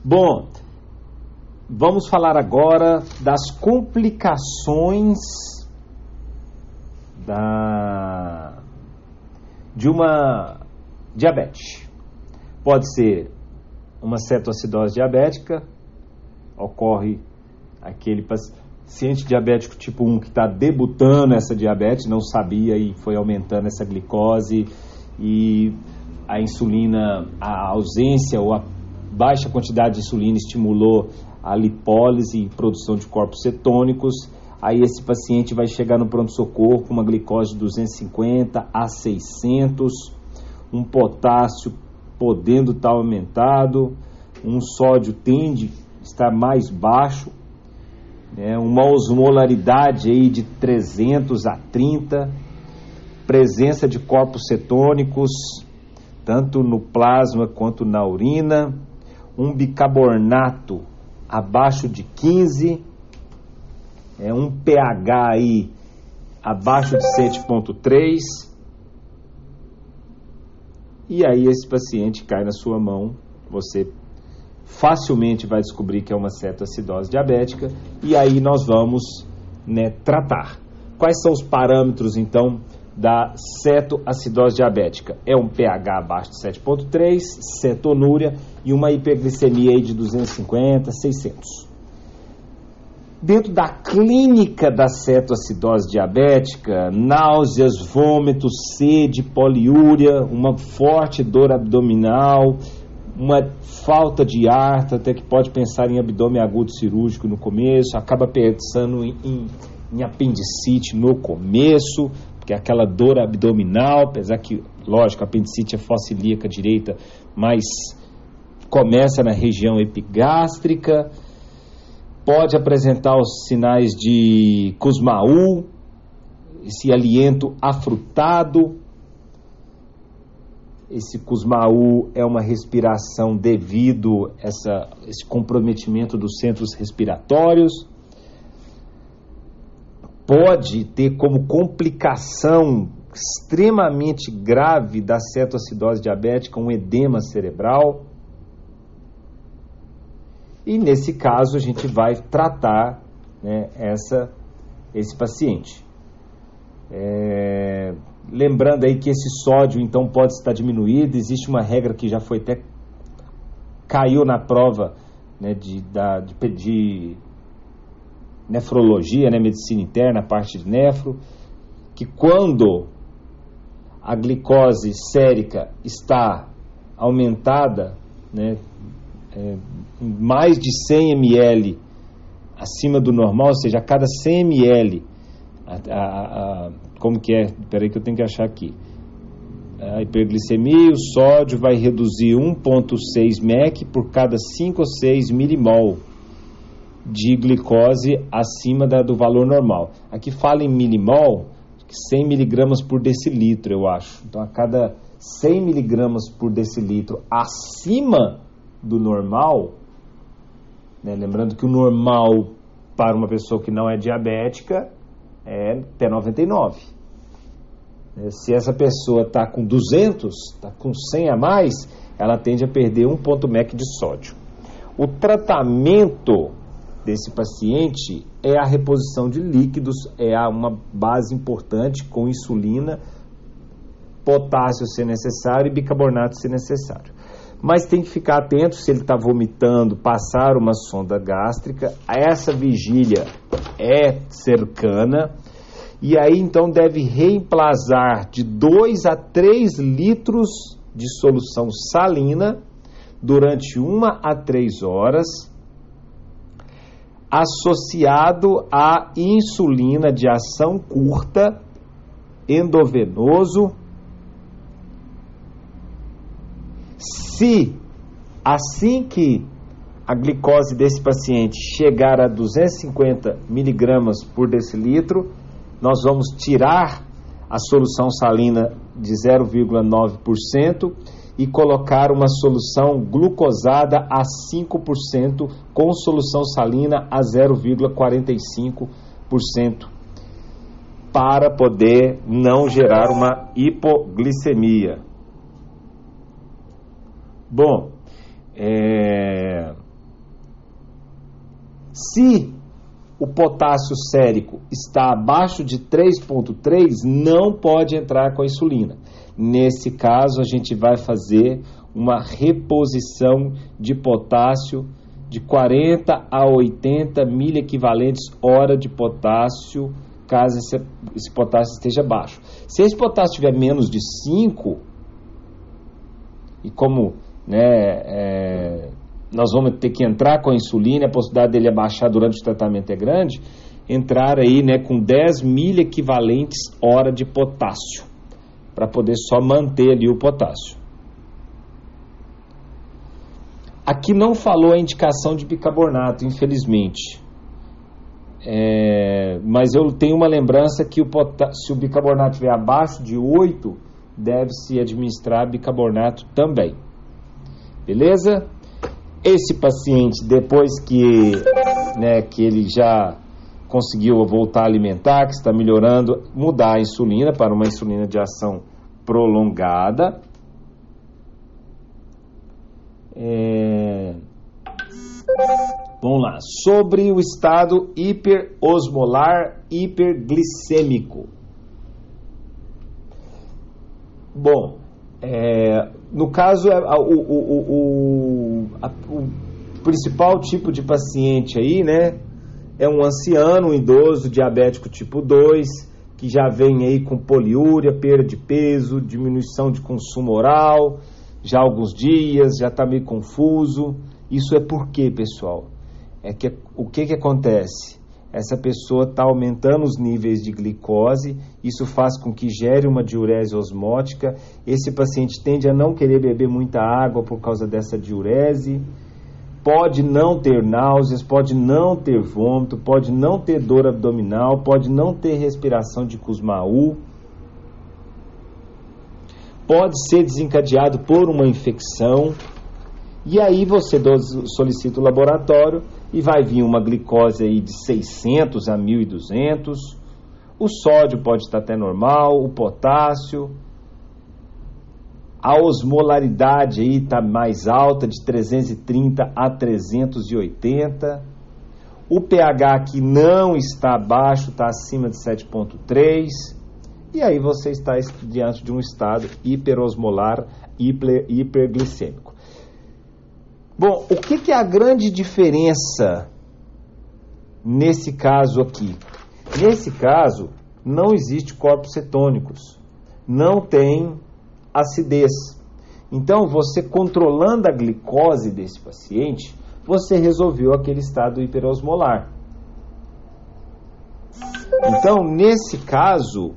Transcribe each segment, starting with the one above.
Bom, vamos falar agora das complicações de uma diabetes. Pode ser uma cetoacidose diabética, ocorre aquele paciente diabético tipo 1 que está debutando essa diabetes, não sabia e foi aumentando essa glicose e a insulina, a ausência ou a baixa quantidade de insulina estimulou a lipólise e produção de corpos cetônicos. Aí esse paciente vai chegar no pronto-socorro com uma glicose de 250 a 600, um potássio podendo estar aumentado, um sódio tende a estar mais baixo, uma osmolaridade aí de 300 a 30, presença de corpos cetônicos, tanto no plasma quanto na urina, um bicarbonato abaixo de 15, um pH aí abaixo de 7,3, e aí esse paciente cai na sua mão, você facilmente vai descobrir que é uma cetoacidose diabética, e aí nós vamos tratar. Quais são os parâmetros, então, da cetoacidose diabética? É um pH abaixo de 7,3, cetonúria e uma hiperglicemia aí de 250, 600. Dentro da clínica da cetoacidose diabética, náuseas, vômitos, sede, poliúria, uma forte dor abdominal, uma falta de ar, até que pode pensar em abdômen agudo cirúrgico no começo, acaba pensando em apendicite no começo, porque é aquela dor abdominal, apesar que, lógico, a apendicite é focilíaca direita, mas começa na região epigástrica, pode apresentar os sinais de Kussmaul, esse aliento afrutado. Esse Kussmaul é uma respiração devido a esse comprometimento dos centros respiratórios. Pode ter como complicação extremamente grave da cetoacidose diabética um edema cerebral. E nesse caso a gente vai tratar esse paciente. Lembrando aí que esse sódio então pode estar diminuído. Existe uma regra que já foi até caiu na prova de nefrologia, medicina interna, a parte de nefro, que quando a glicose sérica está aumentada, mais de 100 ml acima do normal, ou seja, a cada 100 ml, como que é? Espera aí que eu tenho que achar aqui. A hiperglicemia, o sódio vai reduzir 1,6 mEq por cada 5 ou 6 milimol de glicose acima do valor normal. Aqui fala em milimol, 100 miligramas por decilitro, eu acho. Então, a cada 100 miligramas por decilitro acima do normal, lembrando que o normal para uma pessoa que não é diabética é até 99. Se essa pessoa está com 200, está com 100 a mais, ela tende a perder 1 mEq de sódio. O tratamento desse paciente é a reposição de líquidos, uma base importante com insulina, potássio se necessário e bicarbonato se necessário. Mas tem que ficar atento se ele está vomitando, passar uma sonda gástrica. Essa vigília é cercana. E aí então deve reemplazar de 2 a 3 litros de solução salina durante 1 a 3 horas, associado a insulina de ação curta, endovenoso. Se assim que a glicose desse paciente chegar a 250 miligramas por decilitro, nós vamos tirar a solução salina de 0,9% e colocar uma solução glucosada a 5% com solução salina a 0,45% para poder não gerar uma hipoglicemia. Bom, Se o potássio sérico está abaixo de 3,3, não pode entrar com a insulina. Nesse caso, a gente vai fazer uma reposição de potássio de 40 a 80 miliequivalentes hora de potássio, caso esse potássio esteja baixo. Se esse potássio tiver menos de 5, e como nós vamos ter que entrar com a insulina, a possibilidade dele abaixar durante o tratamento é grande, entrar aí com 10 miliequivalentes hora de potássio, para poder só manter ali o potássio. Aqui não falou a indicação de bicarbonato, infelizmente. Mas eu tenho uma lembrança que se o bicarbonato estiver abaixo de 8, deve-se administrar bicarbonato também. Beleza? Esse paciente, depois que ele já conseguiu voltar a alimentar, que está melhorando, mudar a insulina para uma insulina de ação prolongada. Vamos lá, sobre o estado hiperosmolar hiperglicêmico. Bom, no caso, o principal tipo de paciente aí, é um anciano, um idoso, diabético tipo 2, que já vem aí com poliúria, perda de peso, diminuição de consumo oral, já há alguns dias, já está meio confuso. Isso é por quê, pessoal? O que acontece? Essa pessoa está aumentando os níveis de glicose, isso faz com que gere uma diurese osmótica. Esse paciente tende a não querer beber muita água por causa dessa diurese, pode não ter náuseas, pode não ter vômito, pode não ter dor abdominal, pode não ter respiração de Kussmaul, pode ser desencadeado por uma infecção. E aí você solicita o laboratório e vai vir uma glicose aí de 600 a 1.200, o sódio pode estar até normal, o potássio, a osmolaridade aí está mais alta, de 330 a 380, o pH aqui não está baixo, está acima de 7,3, e aí você está diante de um estado hiperosmolar hiperglicêmico. Bom, o que é a grande diferença nesse caso aqui? Nesse caso, não existe corpos cetônicos, não tem acidez. Então, você controlando a glicose desse paciente, você resolveu aquele estado hiperosmolar. Então, nesse caso,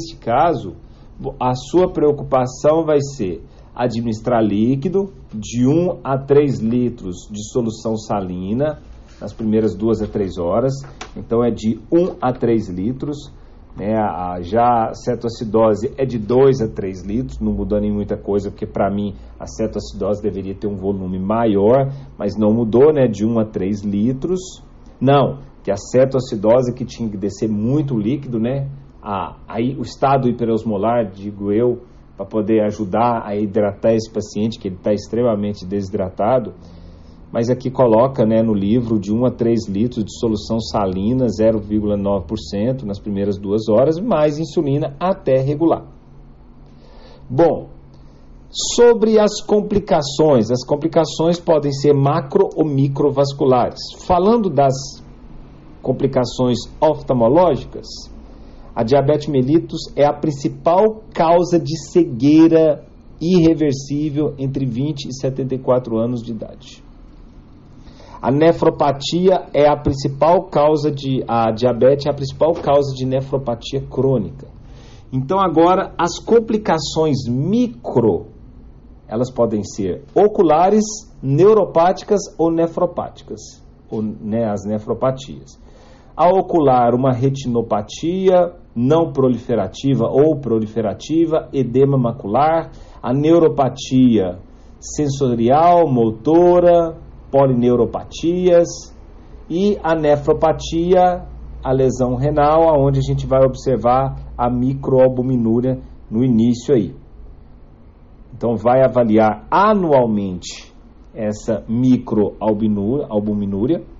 a sua preocupação vai ser administrar líquido de 1 a 3 litros de solução salina nas primeiras 2 a 3 horas. Então é de 1 a 3 litros. Já a cetoacidose é de 2 a 3 litros, não mudou nem muita coisa, porque para mim a cetoacidose deveria ter um volume maior, mas não mudou, de 1 a 3 litros. Não, que a cetoacidose que tinha que descer muito líquido, aí o estado hiperosmolar, digo eu, para poder ajudar a hidratar esse paciente, que ele está extremamente desidratado, mas aqui coloca no livro de 1 a 3 litros de solução salina, 0,9% nas primeiras 2 horas, mais insulina até regular. Bom, sobre as complicações podem ser macro ou microvasculares. Falando das complicações oftalmológicas, a diabetes mellitus é a principal causa de cegueira irreversível entre 20 e 74 anos de idade. A nefropatia é a principal causa a diabetes é a principal causa de nefropatia crônica. Então agora as complicações micro, elas podem ser oculares, neuropáticas ou nefropáticas, as nefropatias. A ocular, uma retinopatia não proliferativa ou proliferativa, edema macular. A neuropatia sensorial, motora, polineuropatias. E a nefropatia, a lesão renal, onde a gente vai observar a microalbuminúria no início aí. Então vai avaliar anualmente essa microalbuminúria.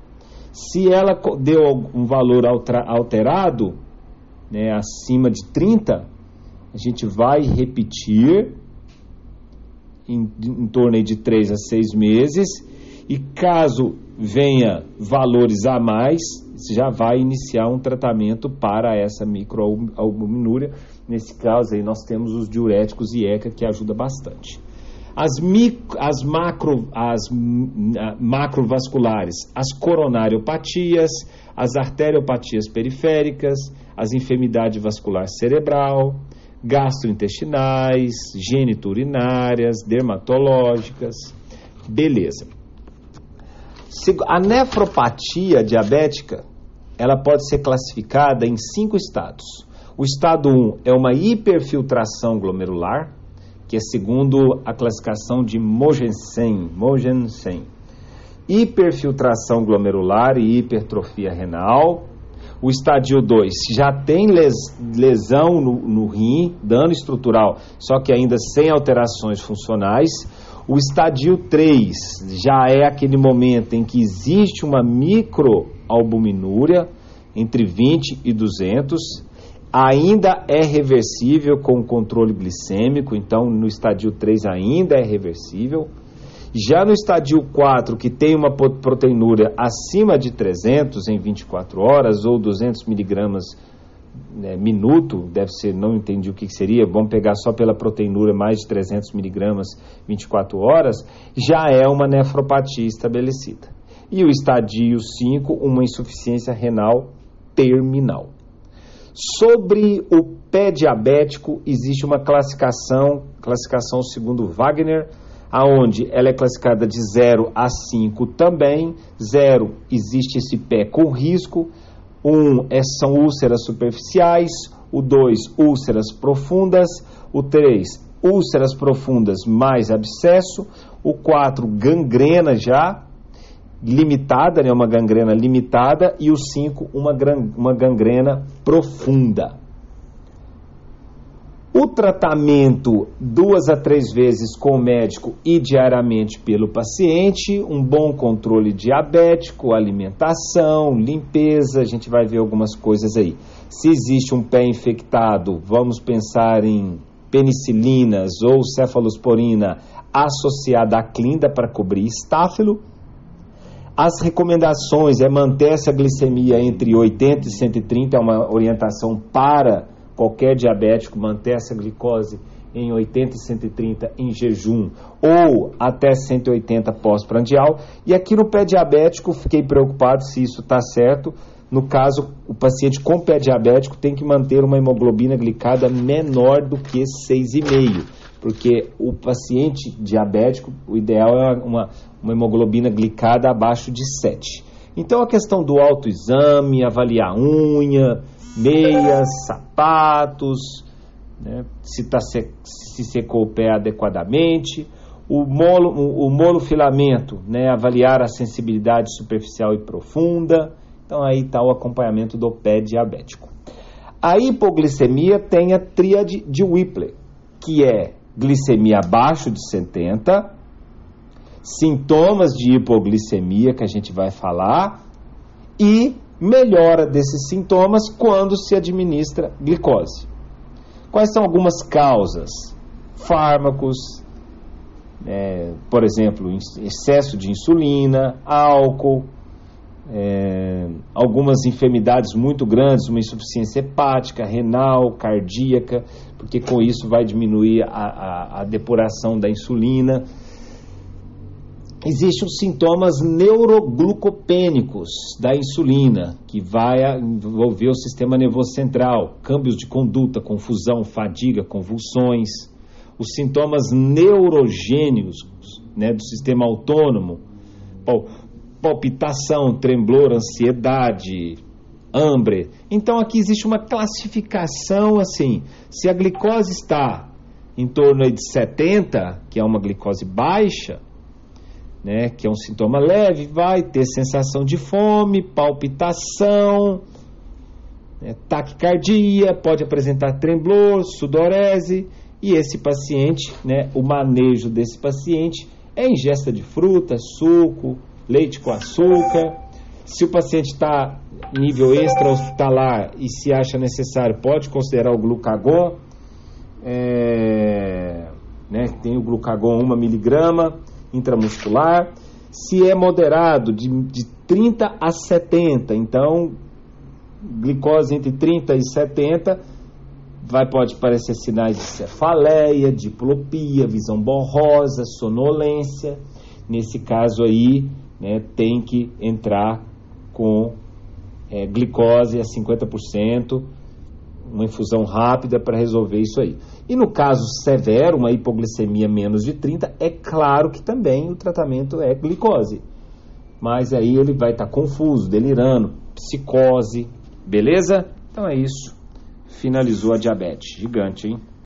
Se ela deu um valor alterado, né, acima de 30, a gente vai repetir em torno de 3 a 6 meses, e caso venha valores a mais, já vai iniciar um tratamento para essa microalbuminúria. Nesse caso aí nós temos os diuréticos e ECA, que ajuda bastante. As macrovasculares, as coronariopatias, as arteriopatias periféricas, as enfermidades vascular cerebral, gastrointestinais, geniturinárias, dermatológicas, beleza. A nefropatia diabética, ela pode ser classificada em 5 estados. O estado 1 é uma hiperfiltração glomerular, que é segundo a classificação de Mogensen. Hiperfiltração glomerular e hipertrofia renal. O estádio 2 já tem lesão no rim, dano estrutural, só que ainda sem alterações funcionais. O estádio 3 já é aquele momento em que existe uma microalbuminúria entre 20 e 200, ainda é reversível com controle glicêmico, então no estádio 3 ainda é reversível. Já no estádio 4, que tem uma proteinúria acima de 300 em 24 horas, ou 200 miligramas minuto, deve ser, não entendi o que seria, vamos pegar só pela proteinúria mais de 300 miligramas 24 horas, já é uma nefropatia estabelecida. E o estádio 5, uma insuficiência renal terminal. Sobre o pé diabético, existe uma classificação segundo Wagner, aonde ela é classificada de 0 a 5 também. 0, existe esse pé com risco. 1 são úlceras superficiais. O 2, úlceras profundas. O 3, úlceras profundas mais abscesso. O 4, gangrena já limitada, né, uma gangrena limitada. E o 5, uma gangrena profunda. O tratamento 2 a 3 vezes com o médico e diariamente pelo paciente, um bom controle diabético, alimentação, limpeza, a gente vai ver algumas coisas aí. Se existe um pé infectado, vamos pensar em penicilinas ou cefalosporina associada à clinda para cobrir estáfilo. As recomendações é manter essa glicemia entre 80 e 130, é uma orientação para qualquer diabético, manter essa glicose em 80 e 130 em jejum ou até 180 pós-prandial. E aqui no pé diabético, fiquei preocupado se isso está certo. No caso, o paciente com pé diabético tem que manter uma hemoglobina glicada menor do que 6,5, porque o paciente diabético, o ideal é uma hemoglobina glicada abaixo de 7. Então a questão do autoexame, avaliar unha, meias, sapatos, né, se secou o pé adequadamente, o molofilamento, né, avaliar a sensibilidade superficial e profunda. Então aí está o acompanhamento do pé diabético. A hipoglicemia tem a tríade de Whipple, que é glicemia abaixo de 70, sintomas de hipoglicemia que a gente vai falar e melhora desses sintomas quando se administra glicose. Quais são algumas causas? Fármacos, por exemplo, excesso de insulina, álcool, algumas enfermidades muito grandes, uma insuficiência hepática, renal, cardíaca, porque com isso vai diminuir a depuração da insulina. Existem os sintomas neuroglucopênicos da insulina, que vai envolver o sistema nervoso central, câmbios de conduta, confusão, fadiga, convulsões. Os sintomas neurogênicos, né, do sistema autônomo, palpitação, tremblor, ansiedade, hambre. Então aqui existe uma classificação assim, se a glicose está em torno de 70, que é uma glicose baixa, né, que é um sintoma leve, vai ter sensação de fome, palpitação, taquicardia, pode apresentar tremblor, sudorese, e esse paciente, né, o manejo desse paciente é ingesta de fruta, suco, leite com açúcar. Se o paciente está nível extra-hospitalar e se acha necessário, pode considerar o glucagon, tem o glucagon 1 miligrama intramuscular. Se é moderado, de 30 a 70, então glicose entre 30 e 70, pode aparecer sinais de cefaleia, diplopia, visão borrosa, sonolência. Nesse caso aí, tem que entrar com glicose a 50%, uma infusão rápida para resolver isso aí. E no caso severo, uma hipoglicemia menos de 30, é claro que também o tratamento é glicose. Mas aí ele vai estar confuso, delirando, psicose, beleza? Então é isso. Finalizou a diabetes. Gigante, hein?